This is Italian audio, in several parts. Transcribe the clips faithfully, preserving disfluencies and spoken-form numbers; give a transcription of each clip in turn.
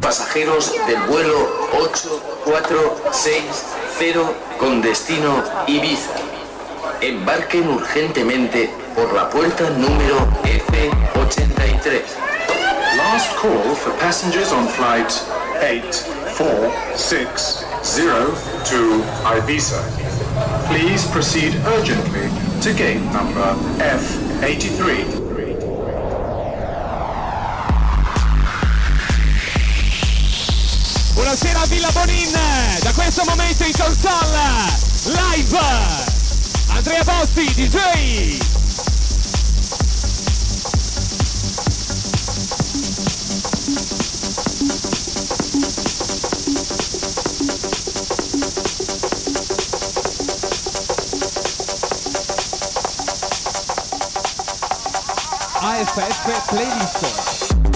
Pasajeros del vuelo ocho cuatro seis cero con destino Ibiza. Embarquen urgentemente por la puerta número F ochenta y tres. Last call for passengers on flight eight four six zero to Ibiza. Please proceed urgently to gate number F eighty-three. Buonasera Villa Bonin, da questo momento in console, live, Andrea Bossi, D J. A F F Playlist.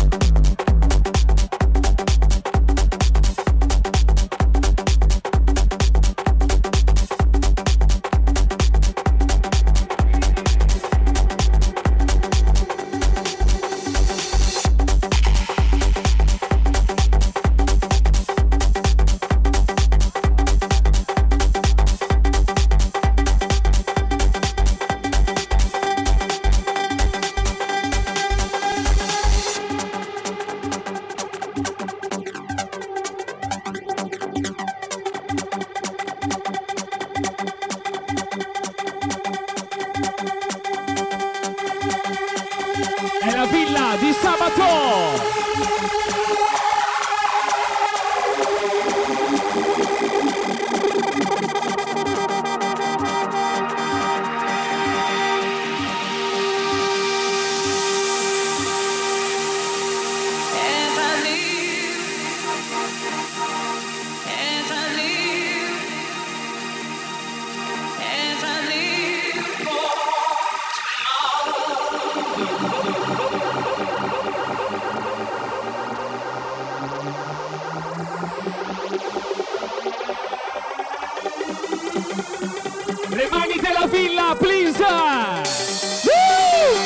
Le mani della villa, please! Woo!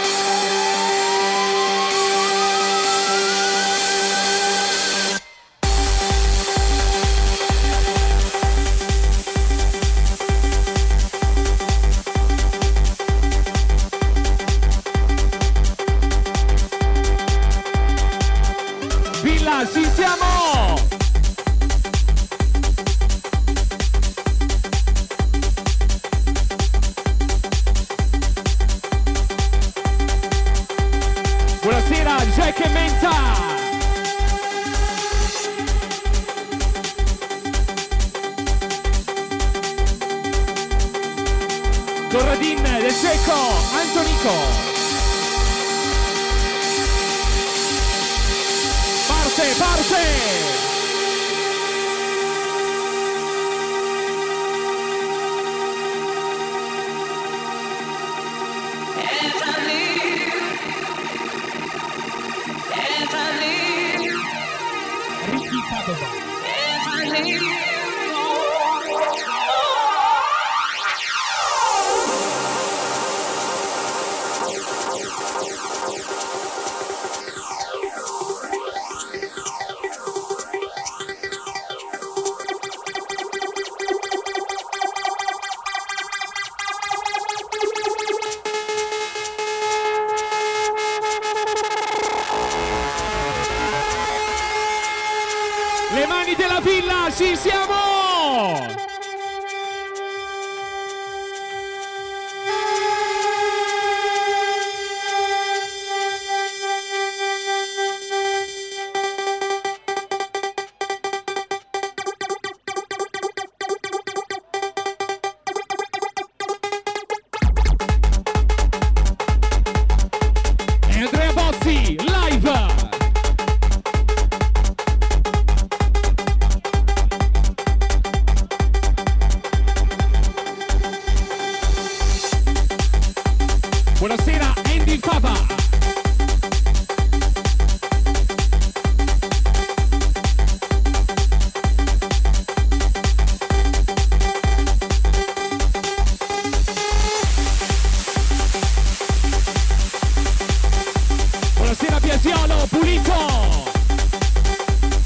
Villa, ci siamo! Buonasera Jack e Menta. Corradin del Cecco, Antonico. Parte, parte. Ricky Padova. Le mani della villa, ci siamo! E Andrea Bozzi, live! Buonasera Andy Fava. Buonasera Biasiolo, pulito.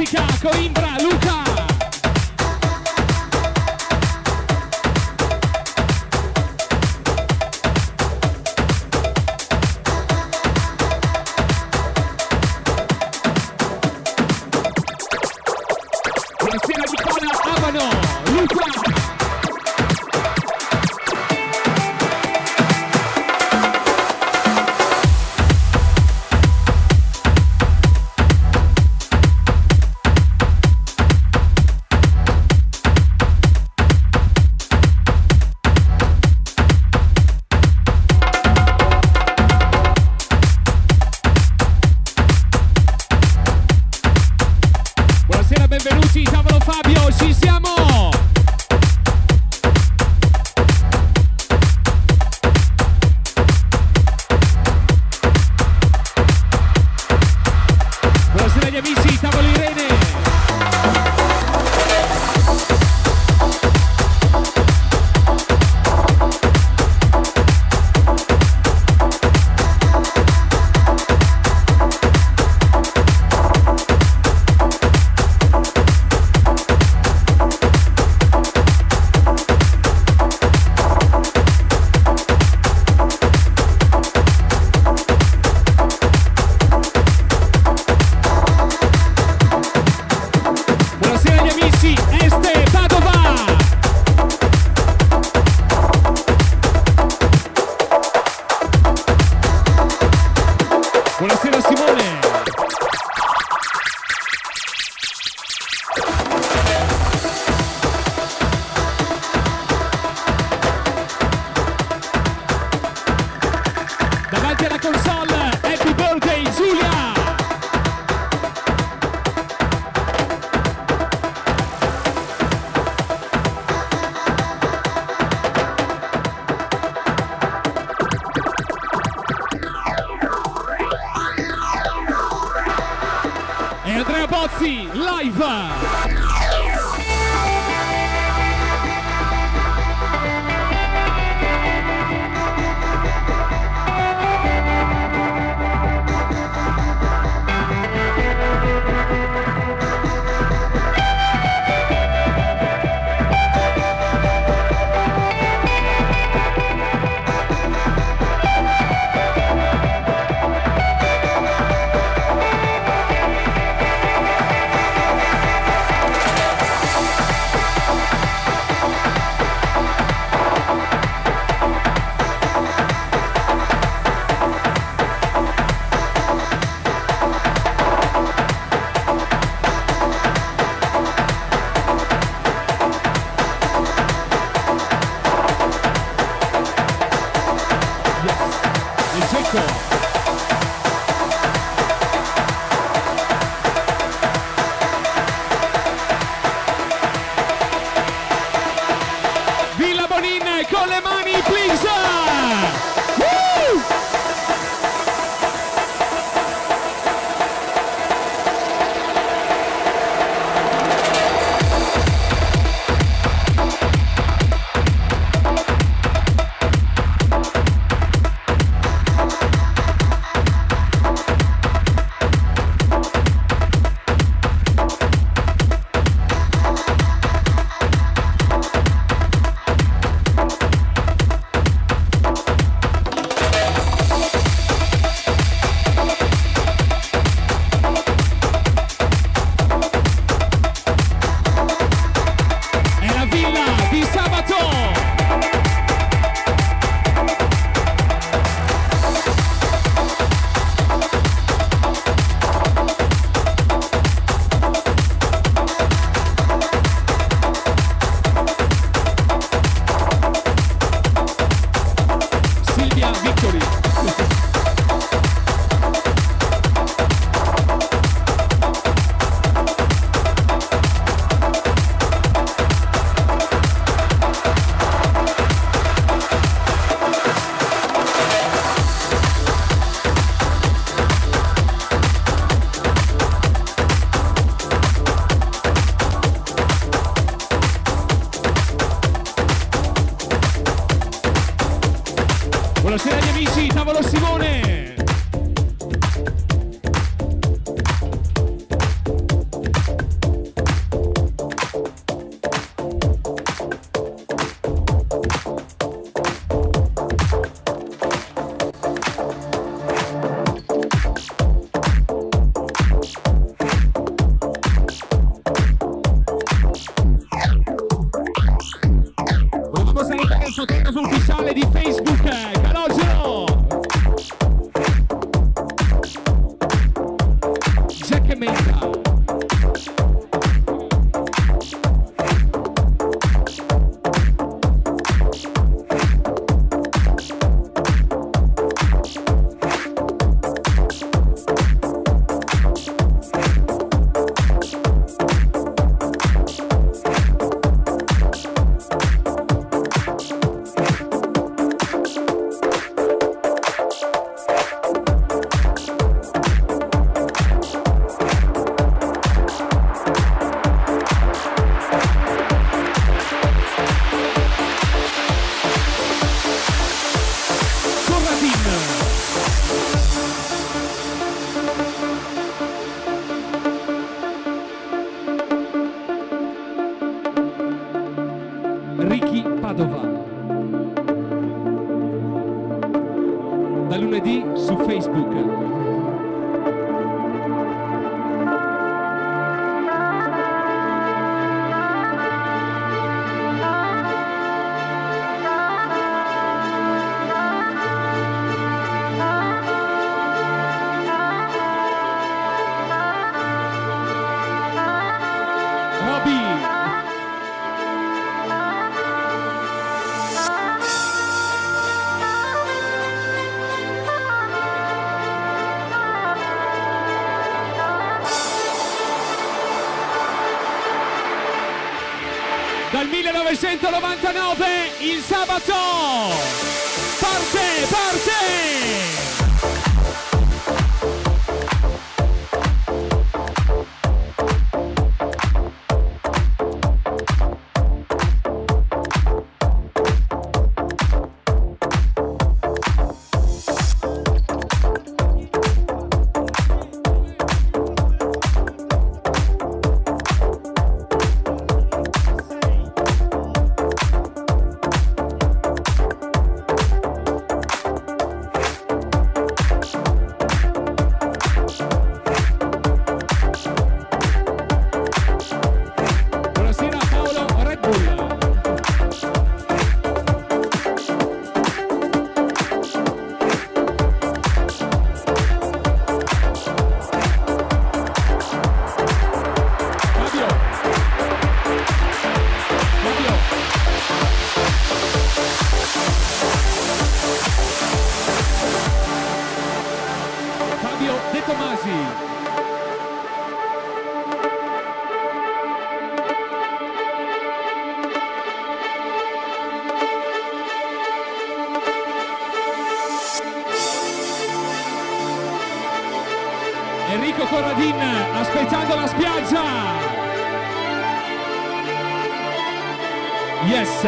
Jessica, Coimbra, Luca. Buonasera Nicola, Abano, Luca. Benvenuti, tavolo Fabio, ci siamo! Buonasera agli amici, tavolo Irene! Buonasera Simone! Davanti alla console, happy birthday Giulia! E Andrea Bozzi, live! Villa Bonin con le mani, please! Woo! Ricky Padova. Da lunedì su Facebook. Dal millenovecentonovantanove il sabato parte, parte! Enrico Corradin aspettando la spiaggia. Yes.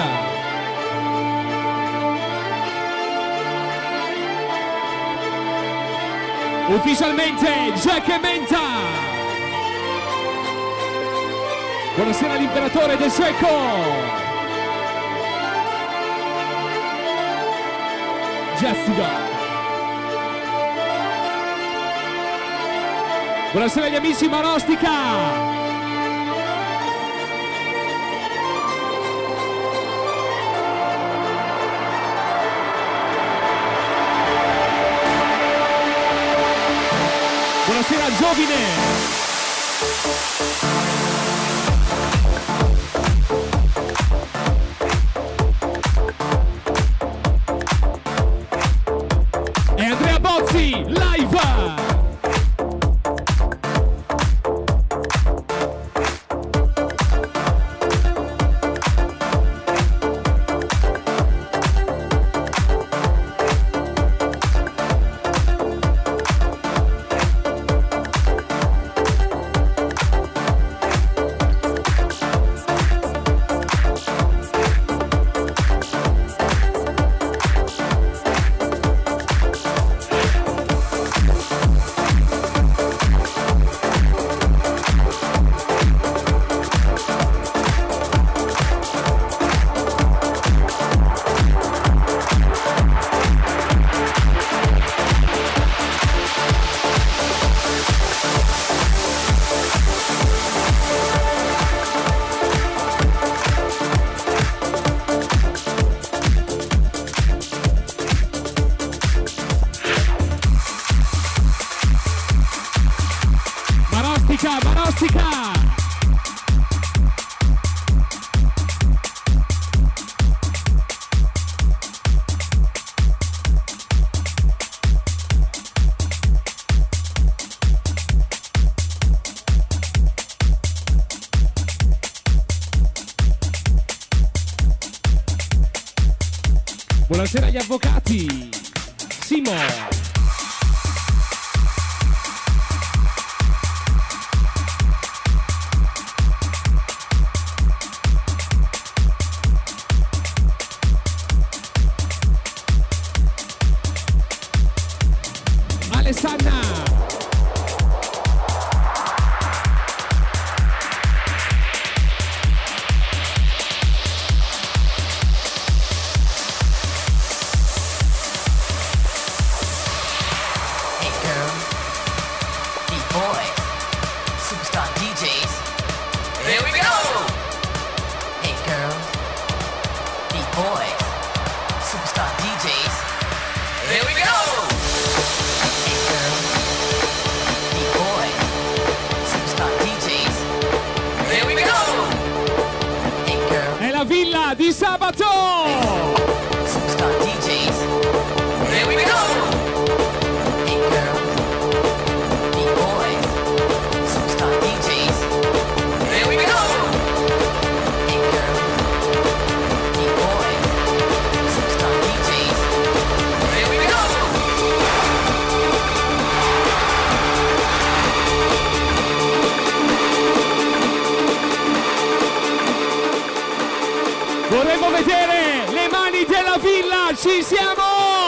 Ufficialmente Jack e Menta. Buonasera all'imperatore del Secco. Jessica. Buonasera agli amici Marostica. Buonasera Giovine. E Andrea Bozzi, live! Marostica! Buonasera agli avvocati. Simo. Alessanna. Villa di sabato! Superstar D Js. Here we go! Hey girl, B-boys, superstar D Js. Here we go! Hey girl, B-boys, superstar D Js. Here we go! Vorremmo vedere le mani della villa, ci siamo!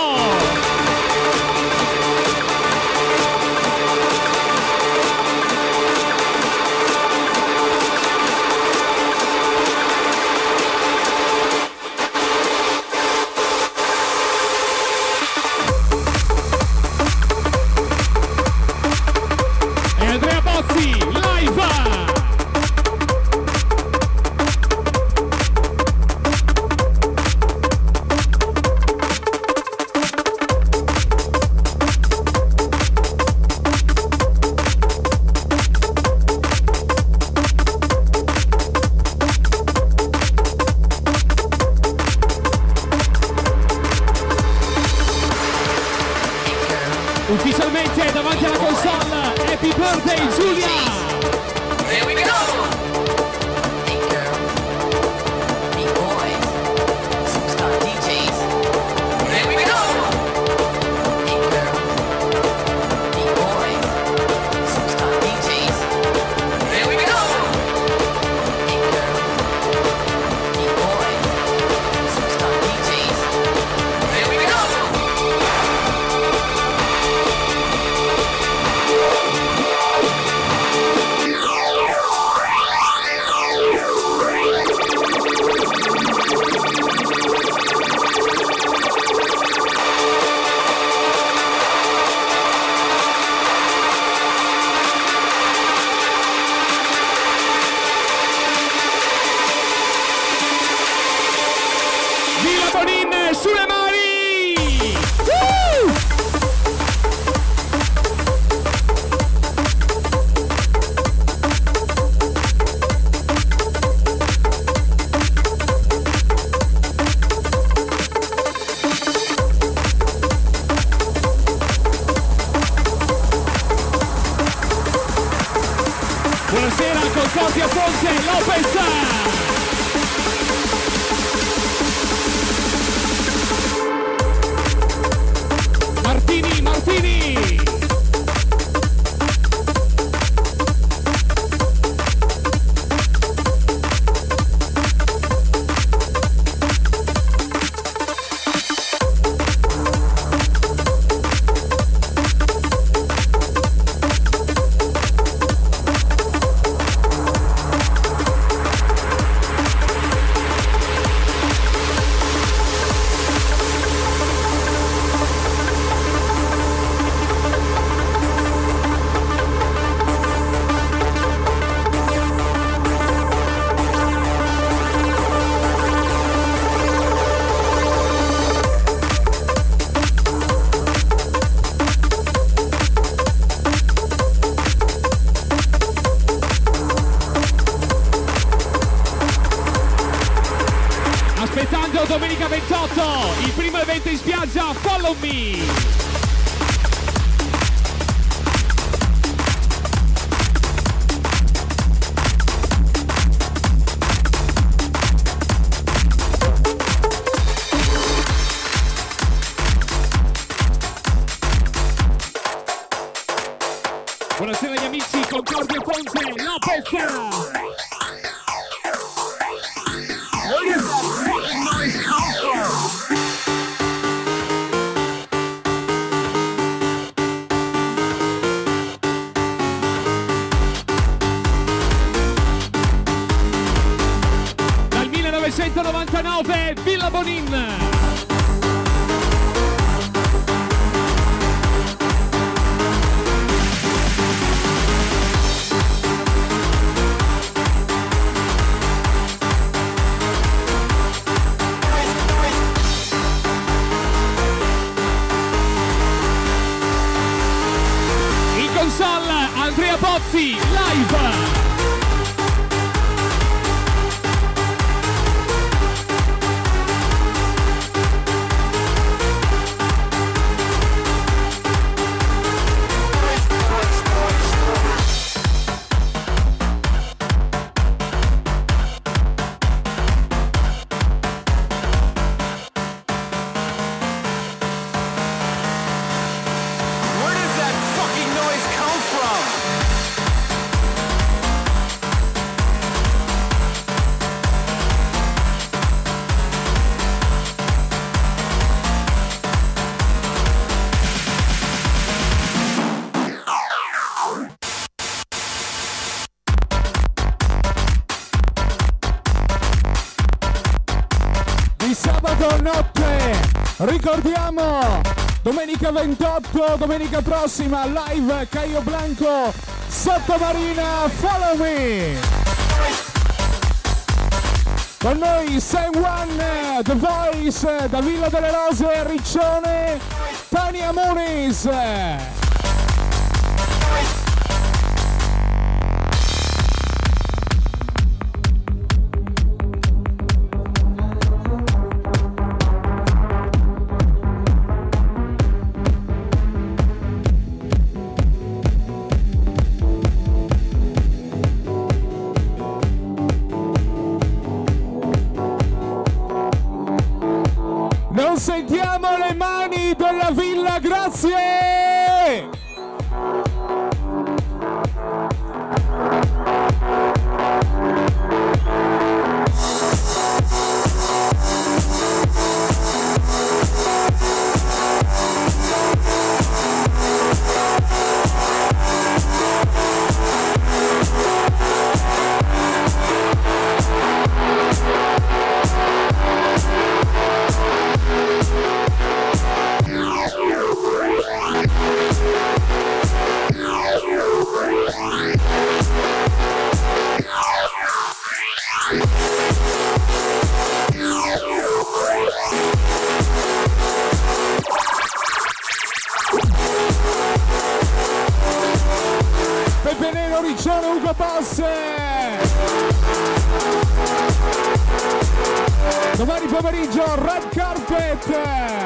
E Andrea Bozzi, live! Ufficialmente davanti alla console, Happy Birthday Giulia! Here we go! Hey girl, B-boys, superstar D Js. Here we go! Hey girl, B-boys, superstar D Js. Here we go! Hey girl, B-boys, superstar D Js. Here we go! Villa Bonin sulle mani! Uh! Buonasera, Concordia Ponte Lopez! Martini, Martini! Aspettando domenica ventotto, il primo evento in spiaggia, Follow Me! Buonasera agli amici, Concordia Ponte Lopez! Where does that fucking noise come from? Bonin. In console Andrea Pozzi, live. Ricordiamo, domenica ventotto, domenica prossima, live Caio Blanco, Sottomarina, Follow Me. Con noi Sam One, The Voice, da Villa delle Rose, Riccione, Tania Muniz. Sentiamo le mani della Villa, grazie! Pepe Nero, Riccione, Ugo Boss. Domani pomeriggio Red Carpet.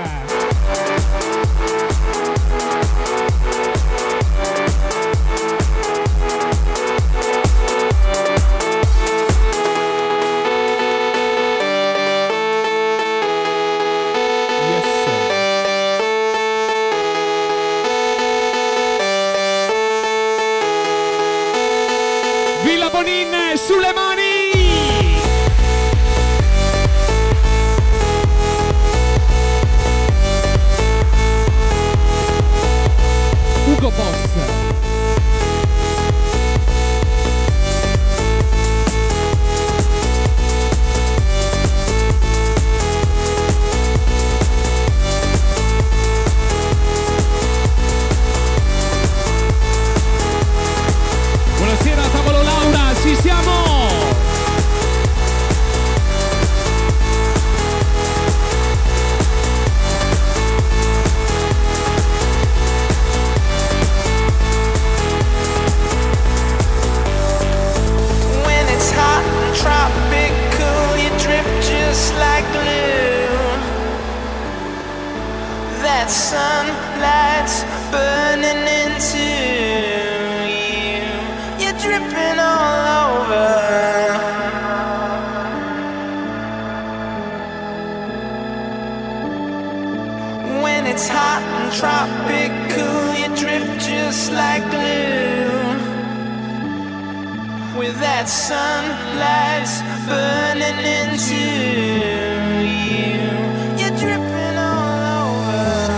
Villa Bonin sulle mani! Ugo Boss. Buonasera, tavolo Laura, ci siamo! When it's hot and tropical, you drip just like glue. That sunlight's burning into you. You're dripping all over. When it's hot and tropical, you drip just like glue. With that sunlight's burning into you. You're dripping all over.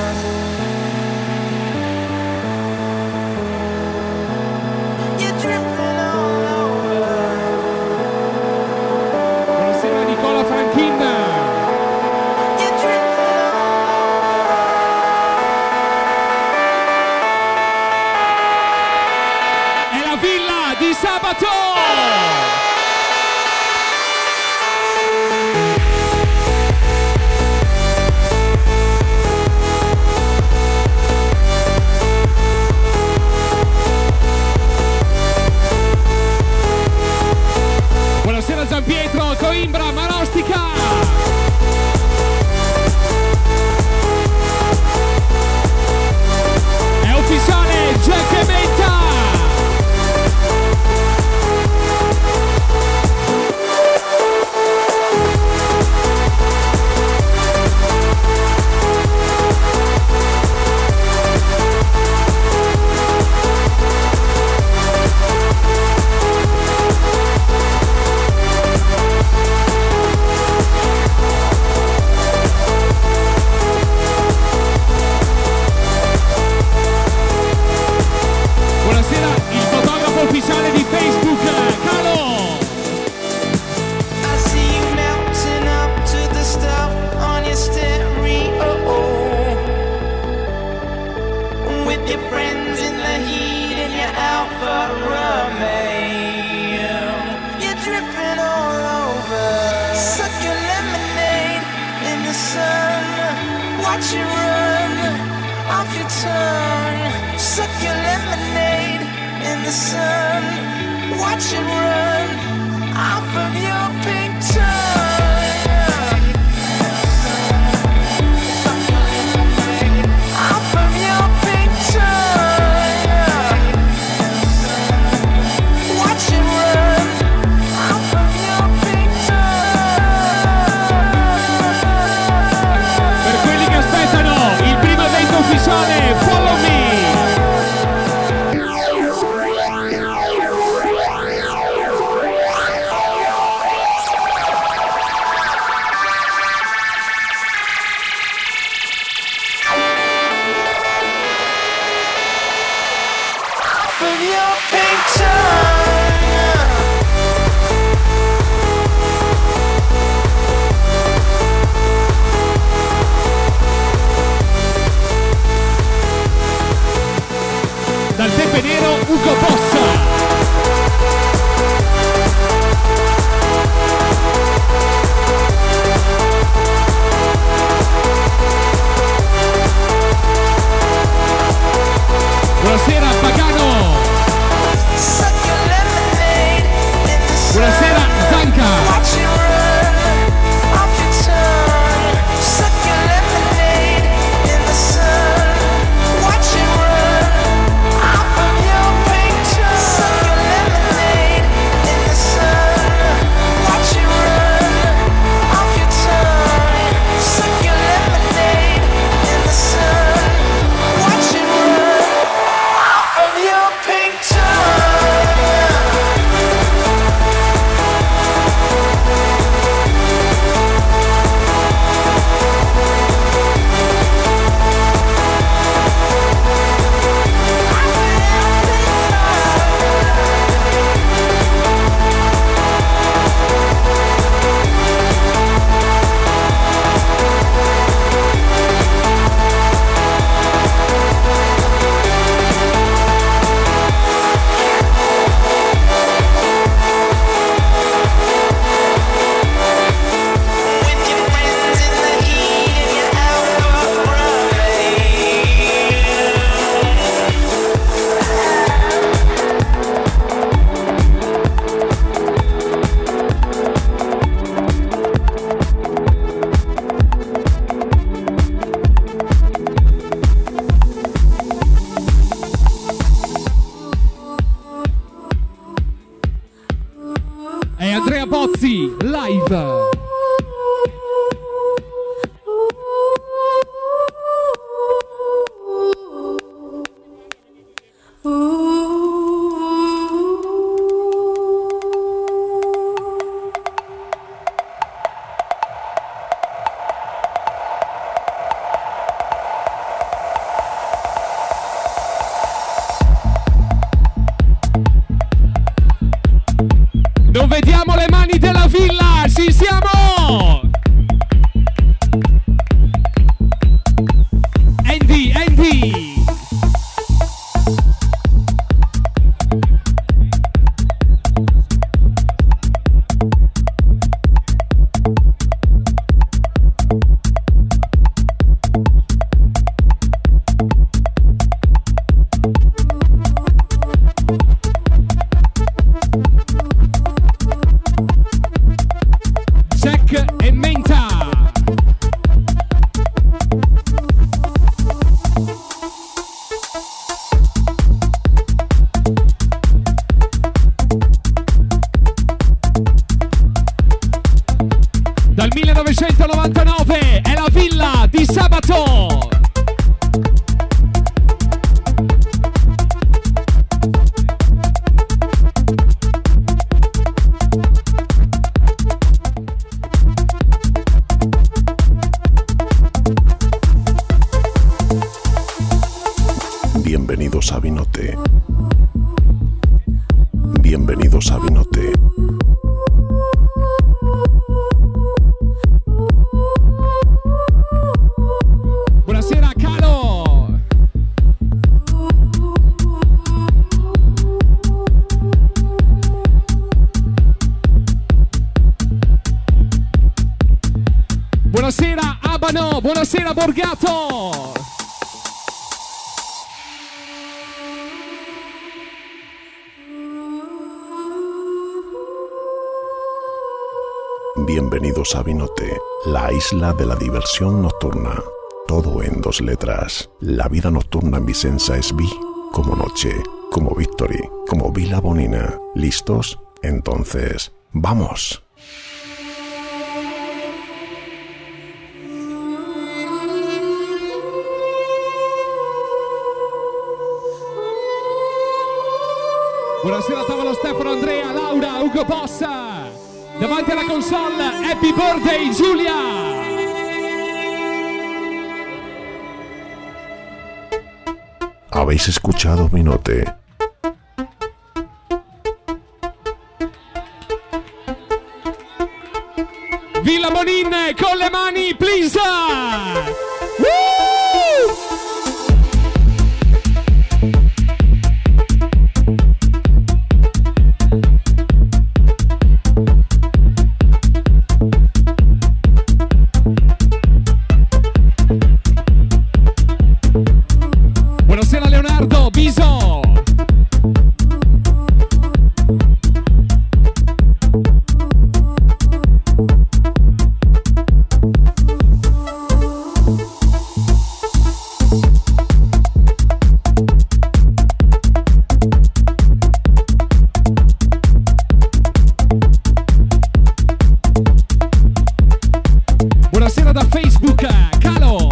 You're dripping all over. Buonasera Nicola Franchina. di sabato! Buonasera Gianpietro, Coimbra, Marostica! Ufficiale Jack e Menta. Ufficiale di Facebook, Calo! I see you melting up to the stuff on your stereo, with your friends in the heat and your Alfa Romeo. You're dripping all over. Suck your lemonade in the sun. Watch it run off your tongue. Suck your lemonade in the sun, watch it run off of your pink tongue. Off of your pink tongue. Watch it run off of your pink tongue. Per quelli che aspettano il primo evento ufficiale, Follow Me! Dal Pepe Nero, Ugo Bossa. Buonasera Pagano. Buonasera Zanca. Andrea Bozzi, live. Non vediamo le mani della villa, ci siamo! novantanove è la villa di sabato. Bienvenidos a Vinote. Bienvenidos a Vinote. Buonasera Calo. Buonasera Abano, buonasera Borgato. Bienvenidos a Vinote, la isla de la diversión nocturna. Todo en dos letras. La vida nocturna en Vicenza es vi como noche, como victory, como Vila Bonina. ¿Listos? Entonces, ¡vamos! Buonasera tavolo Stefano, Andrea, Laura, Ugo Bossa. Davanti alla console, happy birthday Giulia! ¿Habéis escuchado Vinote? Villa Bonin con le mani, please! Woo! Buonasera Leonardo, Biso. Buonasera da Facebook, Calo.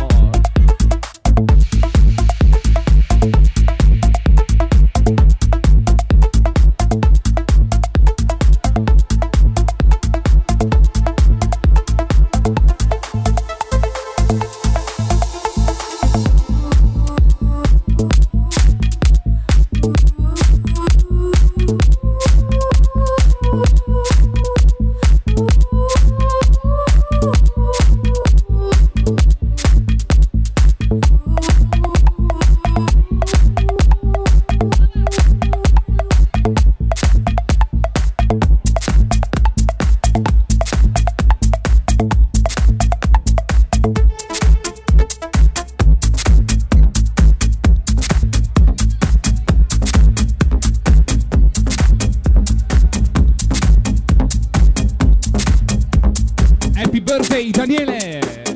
Happy birthday Daniele!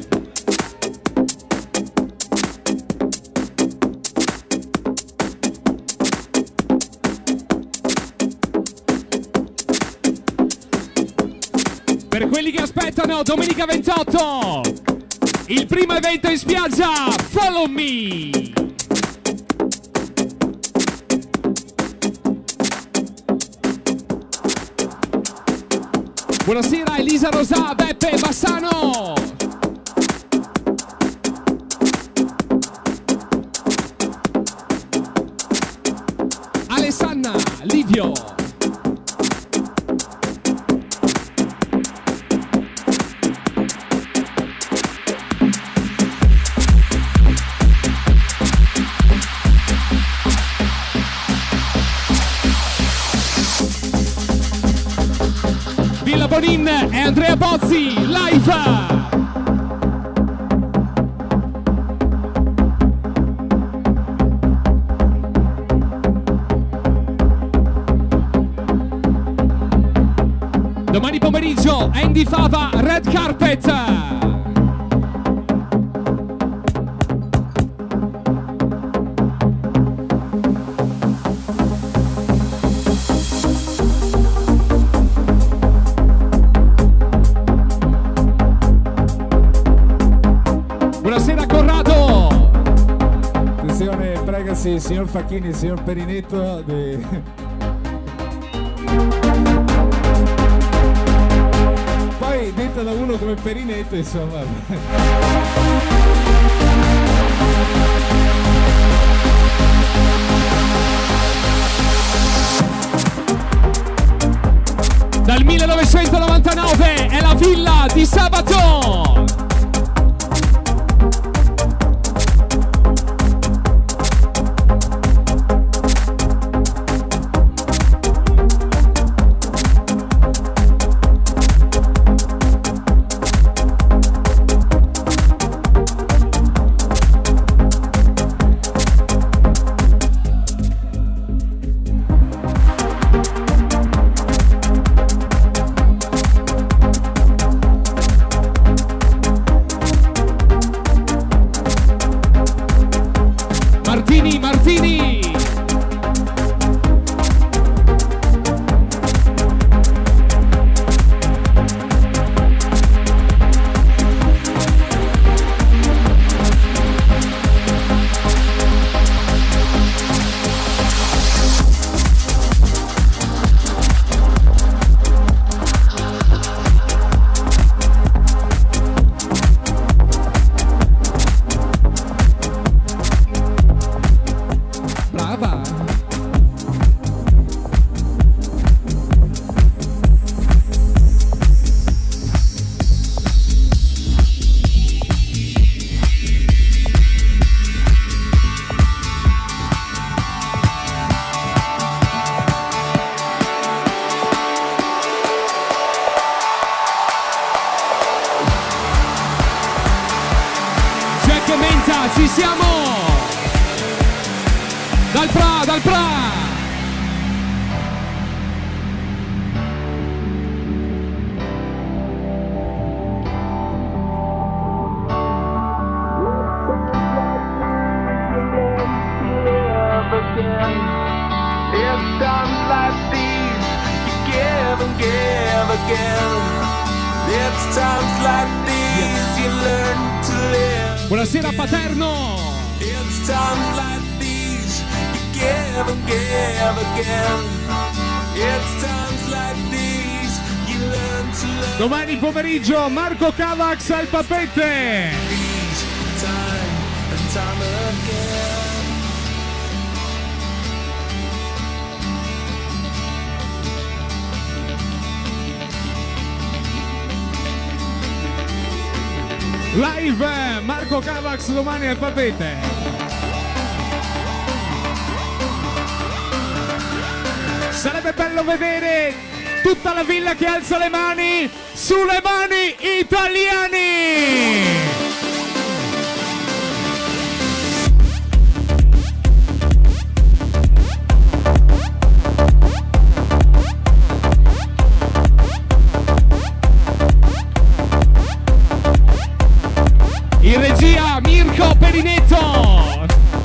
Per quelli che aspettano, domenica ventotto, il primo evento in spiaggia, Follow Me! Buonasera Elisa Rosà, Beppe Bassano. Alessanna, Livio. Villa Bonin e Andrea Bozzi, live! Domani pomeriggio Andy Fava, Red Carpet! sì, il signor Facchini, il signor Perinetto. De... Poi detta da uno come Perinetto, insomma. Dal millenovecentonovantanove è la Villa di Sabaton. Ci siamo! Dal Pra, dal Pra! It's times like these you give and give again. It's times like these you learn to live. Buonasera Paterno! It's times like these you give and give again. It's times like these you learn to live. Domani pomeriggio Marco Cavax al Papette! These time and time again. Live Marco Cavax domani al Papete. Sarebbe bello vedere tutta la villa che alza le mani sulle mani italiani. In regia Mirko Perinetto.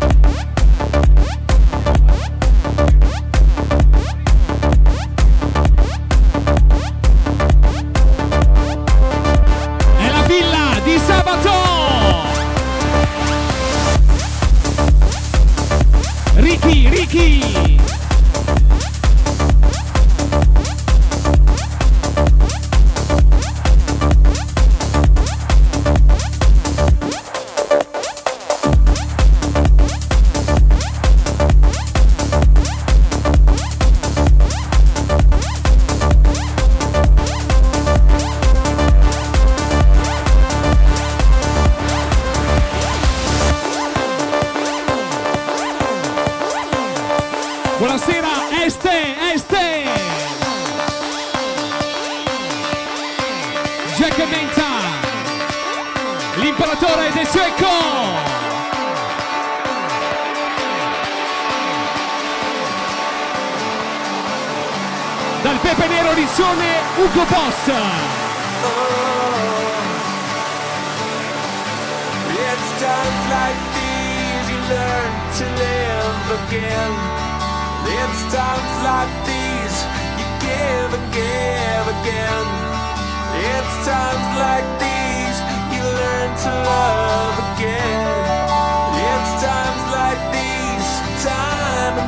È la villa di Sabaton. Ricky, Ricky. Buonasera Este, Este. Jack Menta, l'imperatore del secco. Dal Pepe Nero Riccione, Ugo Boss. It's times like these you learn to live again. It's times like these you give and give again. It's times like these you learn to love again. It's times like these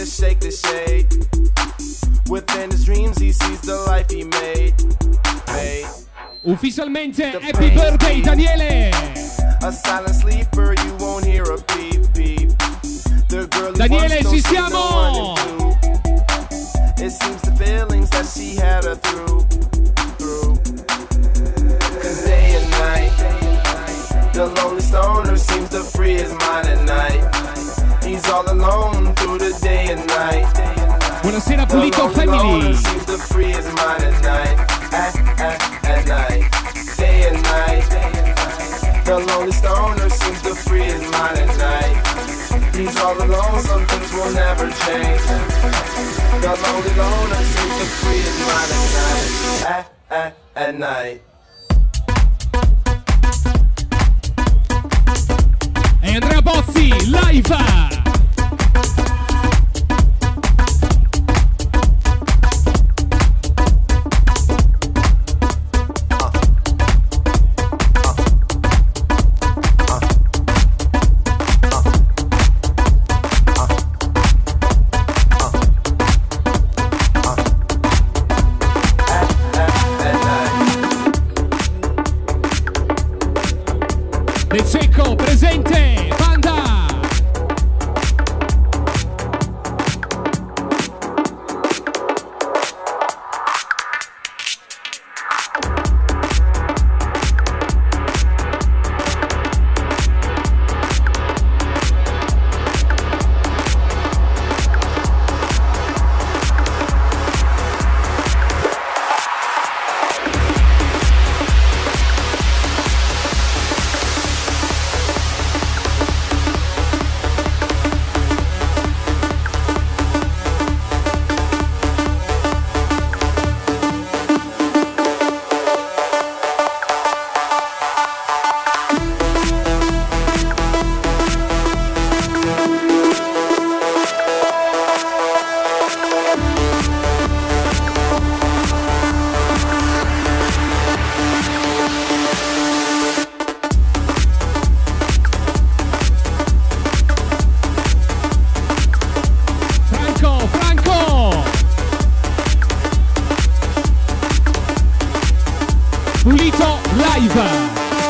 to shake the shade. Within his dreams he sees the life he made. Made. Ufficialmente happy birthday Daniele. A silent sleeper, you won't hear a beep beep. The girl Daniele, ci siamo. It seems the feelings that she had her through, through. Cause day and night, the lonely stoner seems to free his mind at night. He's all alone through the day and night. Buonasera Pulito Family. Seems to free his mind at night, at, at, at night. Day and night, the lonely stoner seems to free his mind at night. He's all alone, some things will never change. The lonely loner seems to free his mind at night, at, at, at night. E Andrea Bozzi, live! De Cecco presente, banda! Pulito live.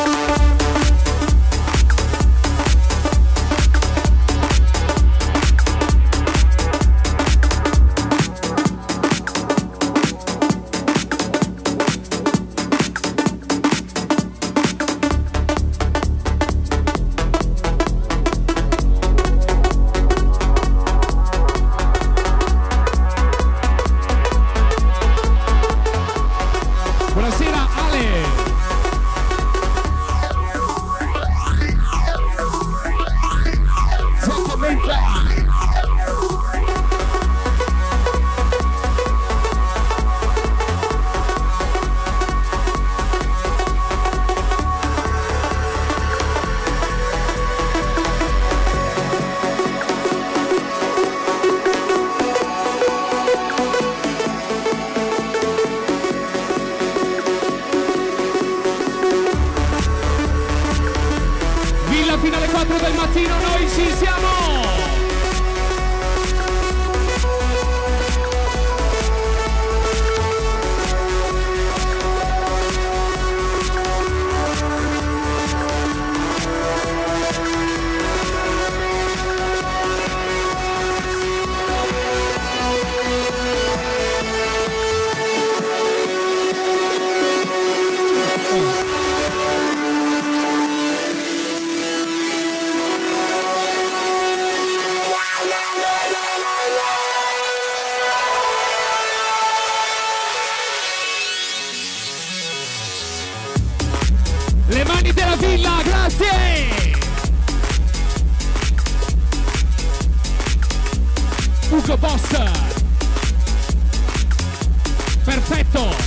Buonasera Ale. Villa fino alle quattro del mattino, noi ci siamo! Le mani della villa, grazie! Ugo Boss! Perfetto!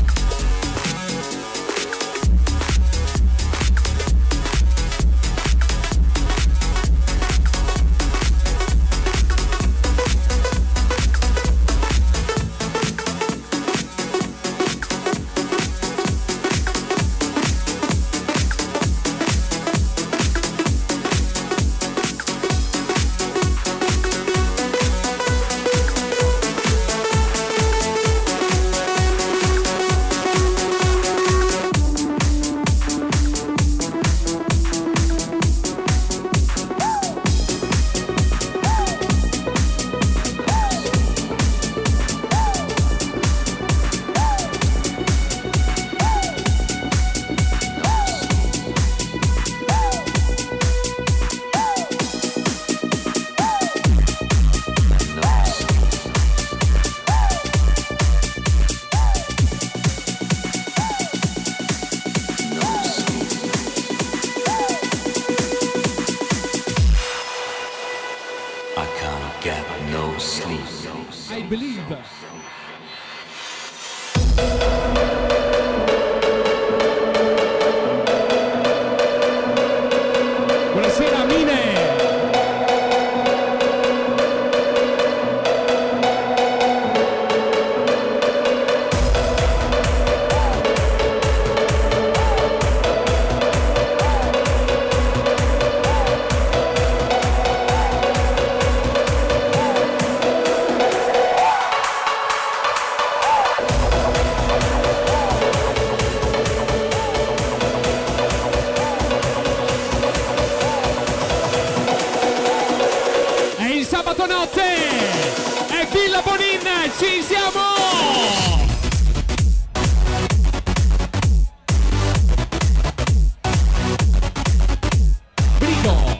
Ci siamo! Brigo!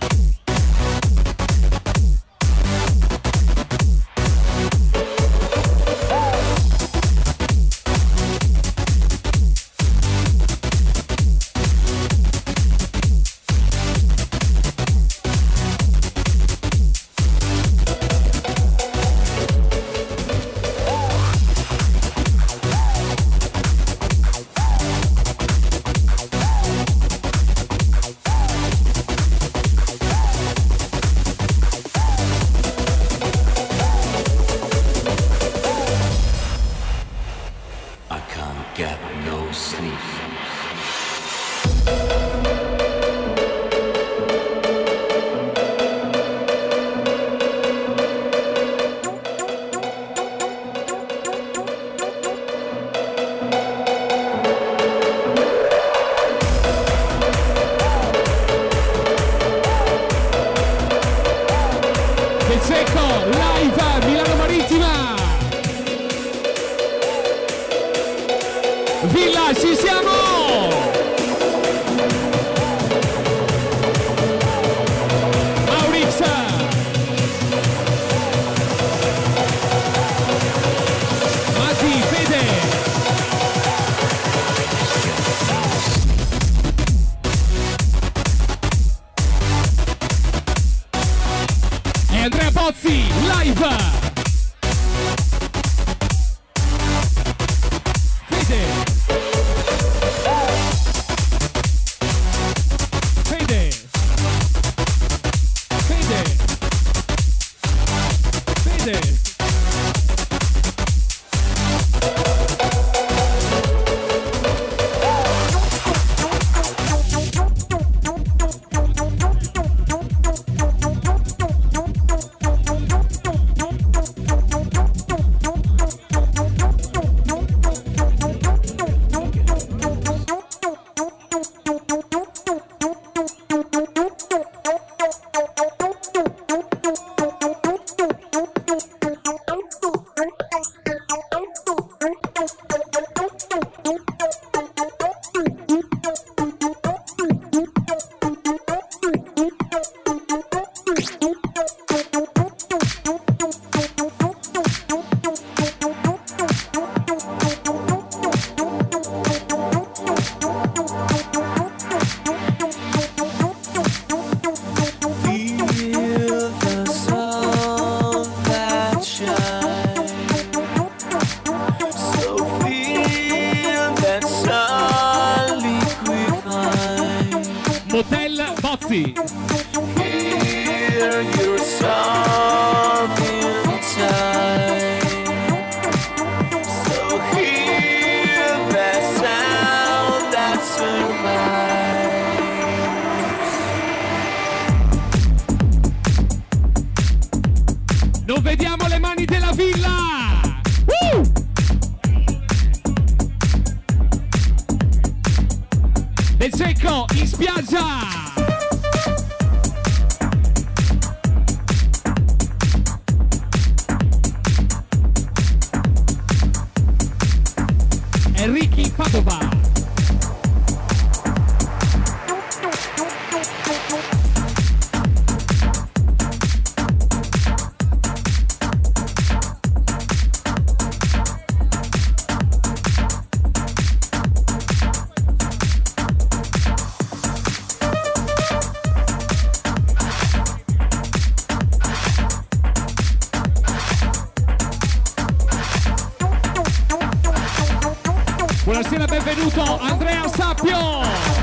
Buonasera, benvenuto Andrea Sappio.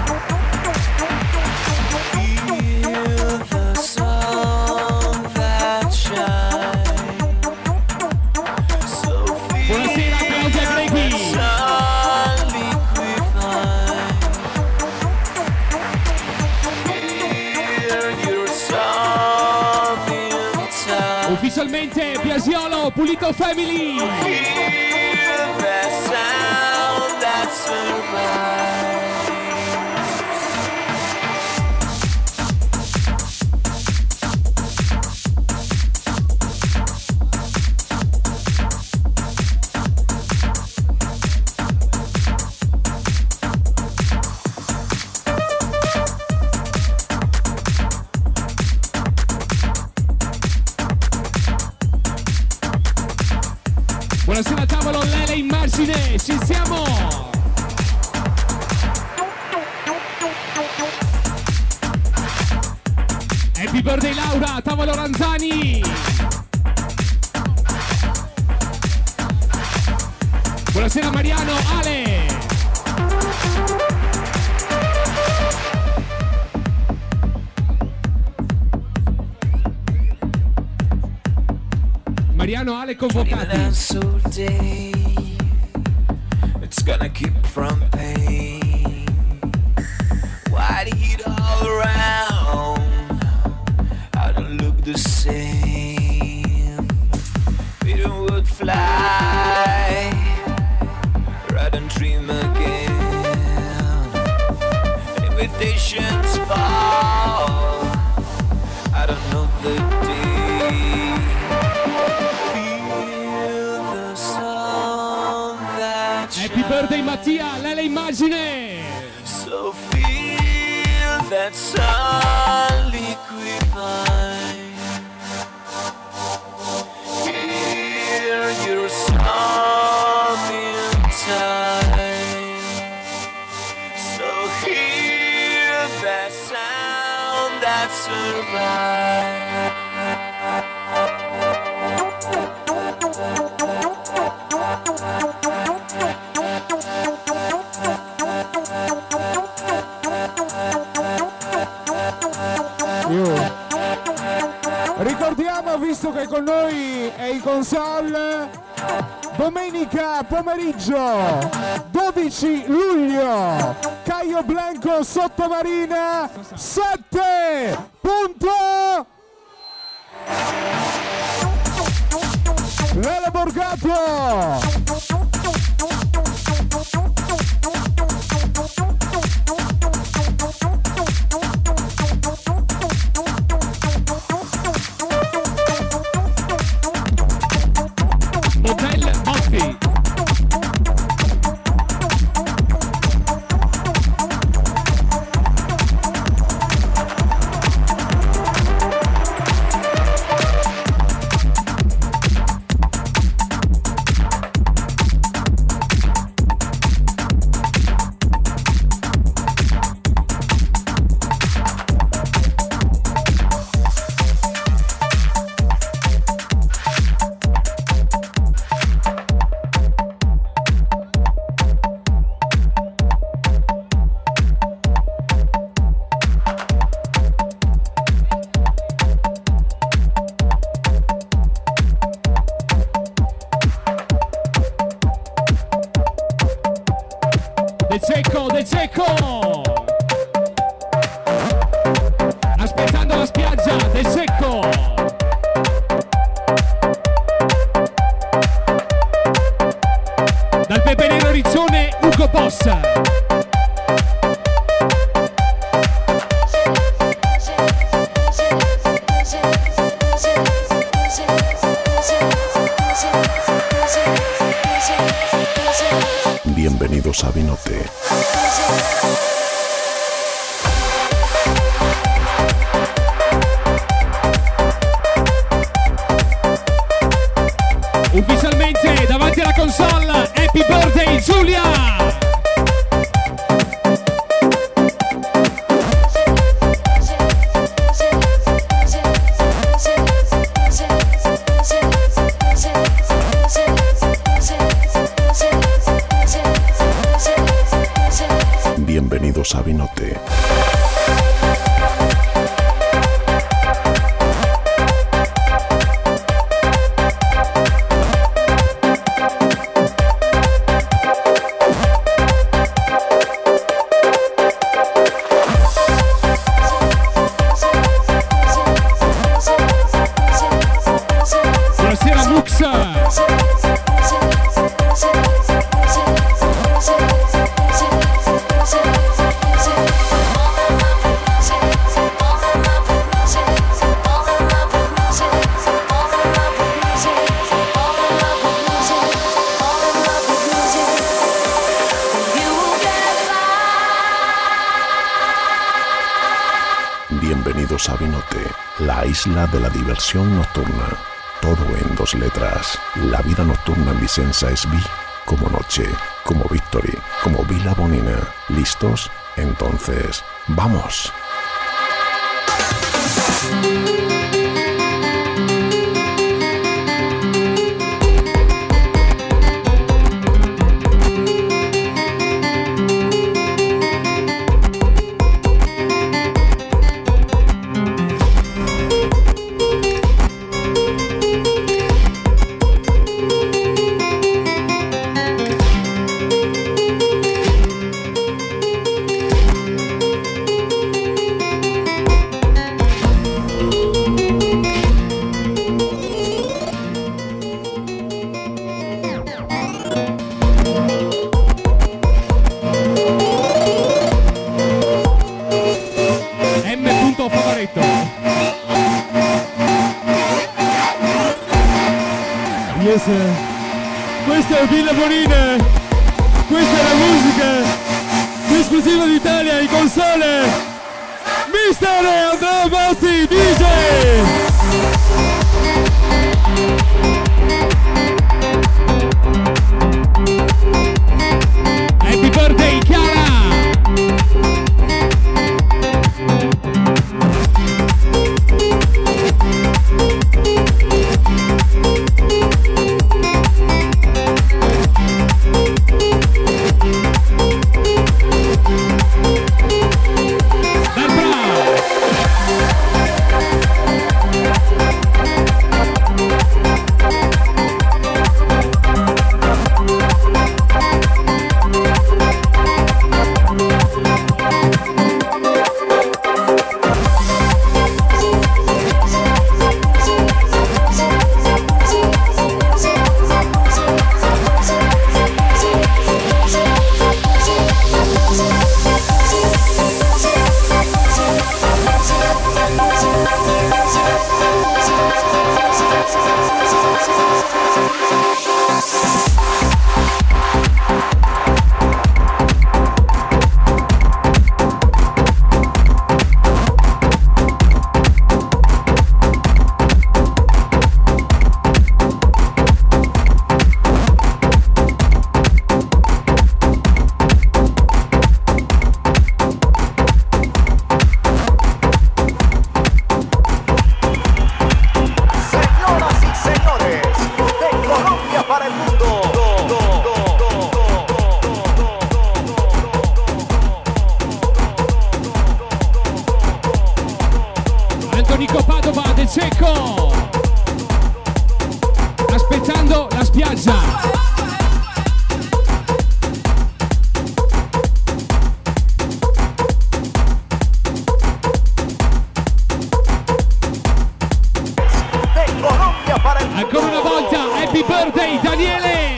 Buonasera Claudia Greghi. Ufficialmente Biasiolo, Pulito Family. birthday Laura, tavolo Ranzani. Buonasera Mariano, Ale. Mariano, Ale convocati. It's gonna keep from pain. White heat all around. I don't look the same. Peter would fly. Ride and dream again. Invitations fall. I don't know the day. Feel the sun that Happy birthday Mattia, lei la immagine. So feel that sun liquefy. Hear your song in time. So hear that sound that survives. Ricordiamo, visto che con noi è in console, domenica pomeriggio dodici luglio, Caio Blanco Sottomarina sette punto Lele Borgato. Hotel Boffi. De Cecco, De Cecco! Aspettando la spiaggia, De Cecco! Dal Pepe Nero Riccione, Ugo Boss! Bienvenidos a Vinote. Ufficialmente davanti alla console, Happy Birthday Giulia! Bienvenidos a Vinote. Buonasera Muxa! Bienvenidos a Vinote, la isla de la diversión nocturna. Todo en dos letras. La vida nocturna en Vicenza es Vi como noche, como Victory, como Vila Bonina. ¿Listos? Entonces, ¡vamos! Questa è Villa Bonina, questa è la musica più esclusiva d'Italia in console, mister Andrea Bossi D J. Happy birthday Chiara! Nico Padova del Cecco, aspettando la spiaggia. Ancora una volta happy birthday Daniele.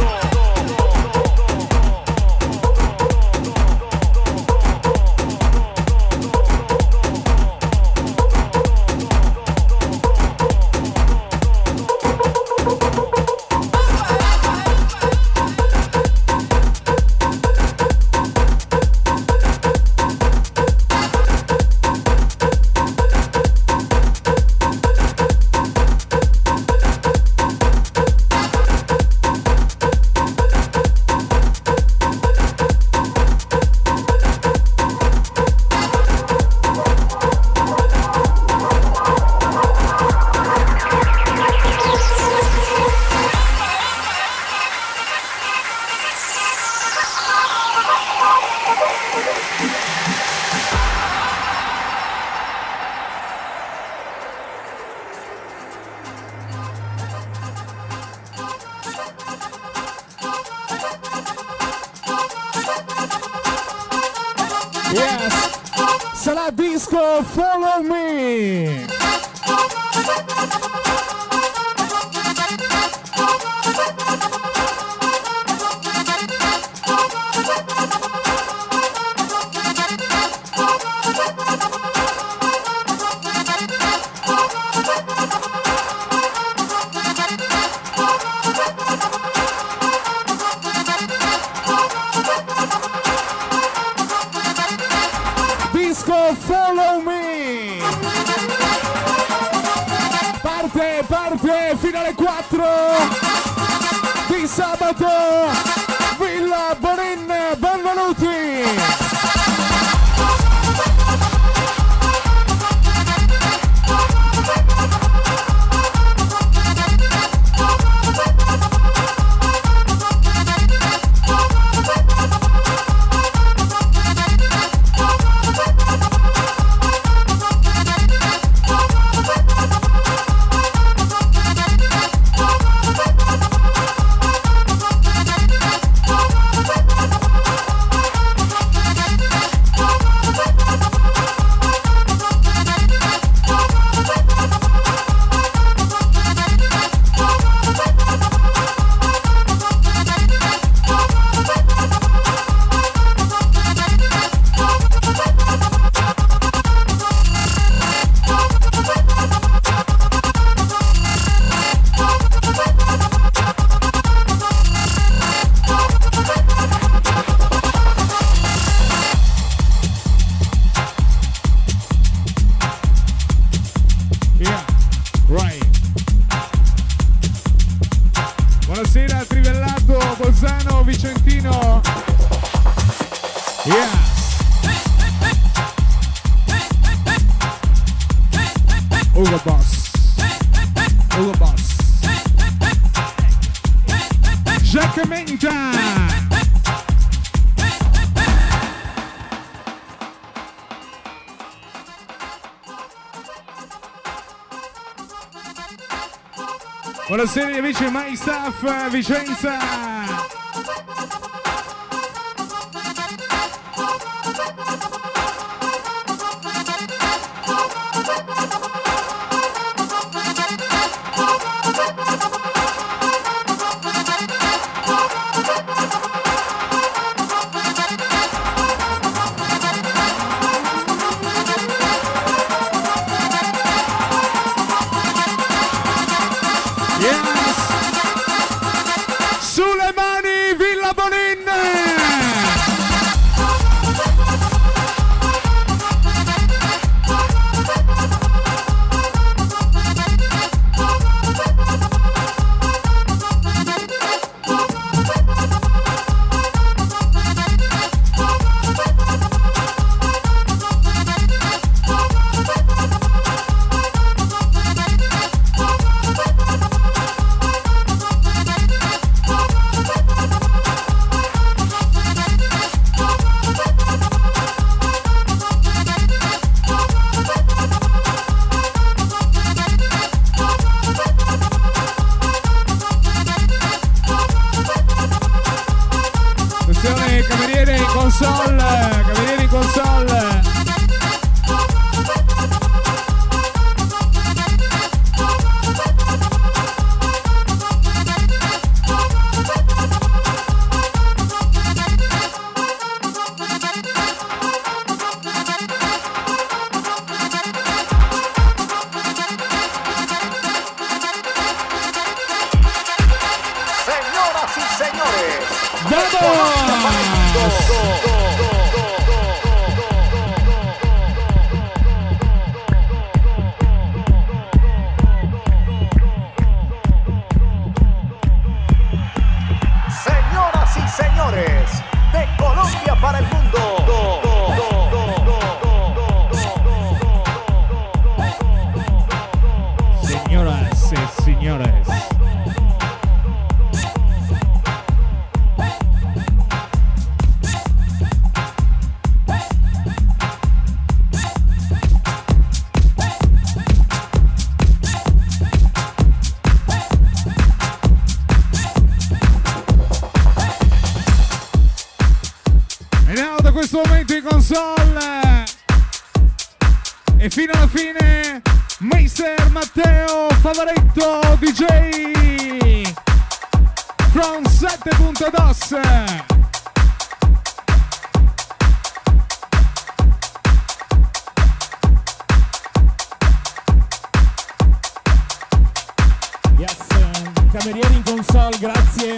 Yes, sarà disco Follow Me. Follow Me, parte, parte fino alle quattro di sabato, Villa Bonin, benvenuti. Yeah. Ugo Boss. Ugo Boss. Jack Menta. Buonasera amici My Staff Vicenza. console e fino alla fine Mister Matteo Favoretto D J from sette punto dos. Yes, camerieri in console, grazie.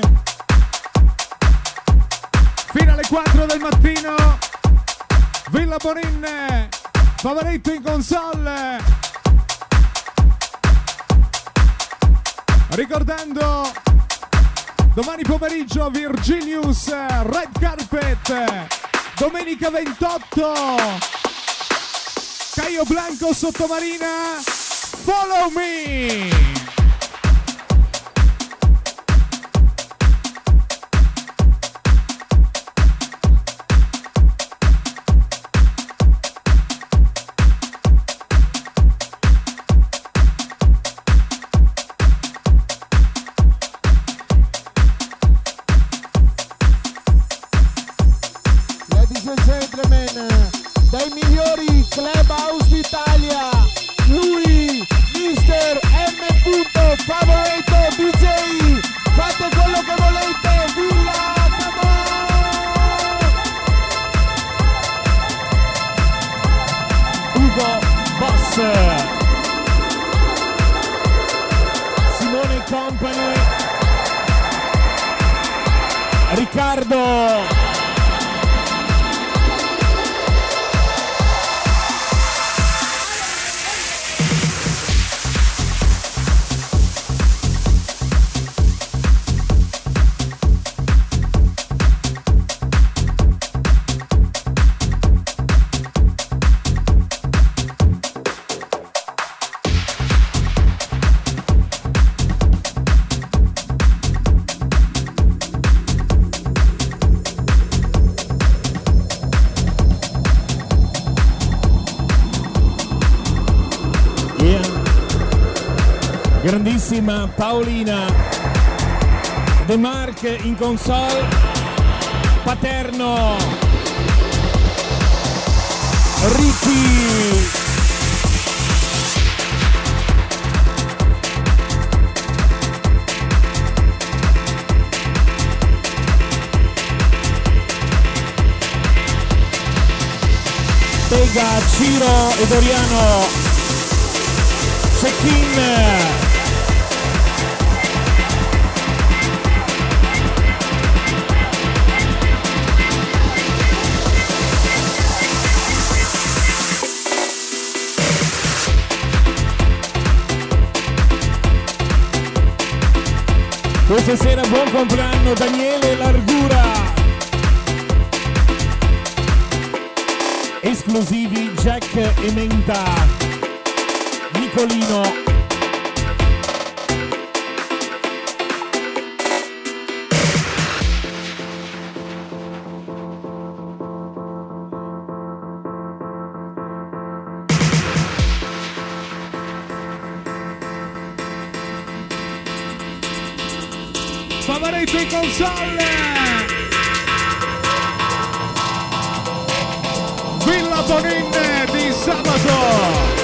Fino alle quattro del mattino, Villa Bonin, Favoretto in console. Ricordando, domani pomeriggio Virgilius, Red Carpet, domenica ventotto, Caio Blanco Sottomarina, Follow Me. Dai migliori clubhouse d'Italia, lui, Mister M. Favoretto D J, fate quello che volete, Villa, come on! Ugo Boss, Simone Company, Riccardo, grandissima Paolina, De Marc in console, Paterno, Ricky, Pega, Ciro e Doriano, check-in. Questa sera buon compleanno Daniele Largura. Esclusivi Jack e Menta, Nicolino. Favaretto in console, Villa Bonin di sabato.